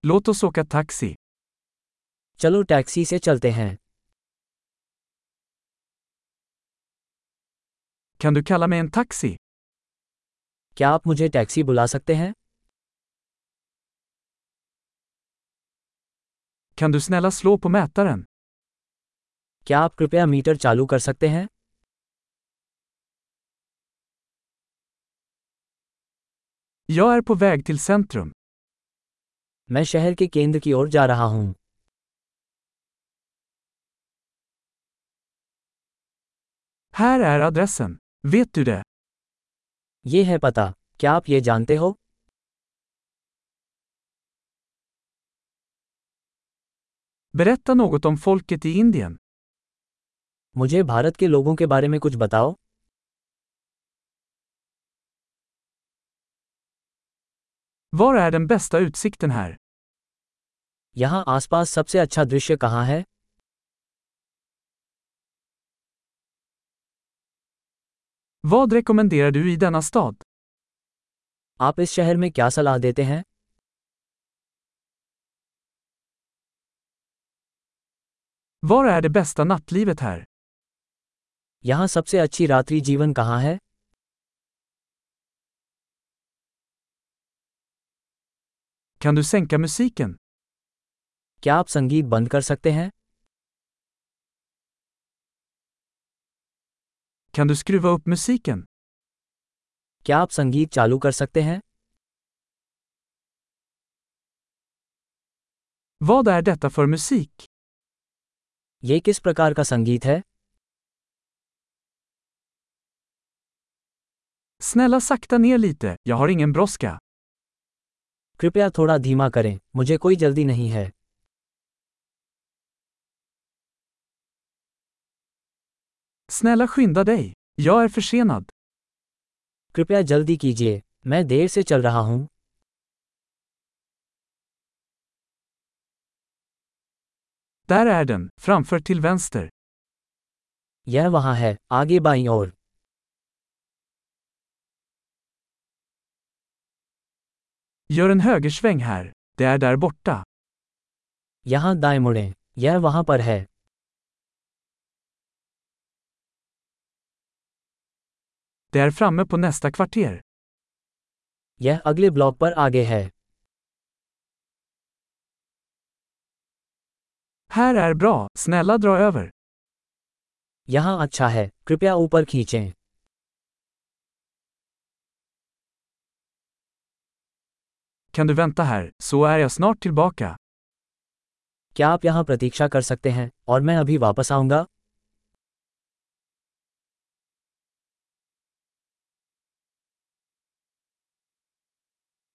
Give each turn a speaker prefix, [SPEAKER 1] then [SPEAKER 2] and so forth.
[SPEAKER 1] Låt oss åka taxi.
[SPEAKER 2] चलो टैक्सी से चलते हैं।
[SPEAKER 1] Kan du kalla mig en taxi?
[SPEAKER 2] क्या आप मुझे टैक्सी बुला सकते हैं?
[SPEAKER 1] Kan du snälla slå på mätaren?
[SPEAKER 2] क्या आप कृपया मीटर चालू कर सकते हैं?
[SPEAKER 1] Jag är på väg till centrum.
[SPEAKER 2] मैं शहर के केंद्र की ओर जा रहा हूँ।
[SPEAKER 1] Här är adressen. Vet du det?
[SPEAKER 2] ये है पता। क्या आप ये जानते हो?
[SPEAKER 1] Berätta något om folket i Indien.
[SPEAKER 2] मुझे भारत के लोगों के बारे में कुछ बताओ।
[SPEAKER 1] Var är den bästa utsikten här?
[SPEAKER 2] यहाँ आसपास सबसे अच्छा दृश्य कहाँ है?
[SPEAKER 1] Vad rekommenderar du i denna stad?
[SPEAKER 2] आप इस शहर में क्या सलाह देते हैं?
[SPEAKER 1] Var är det bästa nattlivet här?
[SPEAKER 2] यहाँ सबसे अच्छी रात्रि जीवन कहाँ है?
[SPEAKER 1] Kan du sänka musiken?
[SPEAKER 2] क्या आप संगीत बंद कर सकते हैं?
[SPEAKER 1] Kan du skruva upp musiken?
[SPEAKER 2] क्या आप संगीत चालू कर सकते हैं?
[SPEAKER 1] Vad är detta för musik?
[SPEAKER 2] ये किस प्रकार का संगीत है?
[SPEAKER 1] Snälla sakta ner lite, jag har ingen brådska.
[SPEAKER 2] कृपया थोड़ा धीमा करें, मुझे कोई जल्दी नहीं है।
[SPEAKER 1] Snälla skynda dig. Jag är försenad.
[SPEAKER 2] कृपया जल्दी कीजिए, मैं देर से चल रहा हूँ।
[SPEAKER 1] Där är den, framför till vänster.
[SPEAKER 2] यह वहाँ है, आगे बाईं ओर।
[SPEAKER 1] Gör en högersväng här. Det är där borta.
[SPEAKER 2] यहाँ दाएं मुड़ें, यह वहाँ पर है।
[SPEAKER 1] Det är framme på nästa kvarter.
[SPEAKER 2] यह अगले ब्लॉक पर आगे है।
[SPEAKER 1] Här är bra, snälla dra över.
[SPEAKER 2] यहाँ अच्छा है, कृपया ऊपर खींचें।
[SPEAKER 1] Kan du vänta här, så är jag snart tillbaka.
[SPEAKER 2] क्या आप यहाँ प्रतीक्षा कर सकते हैं, और मैं अभी वापस आऊँगा?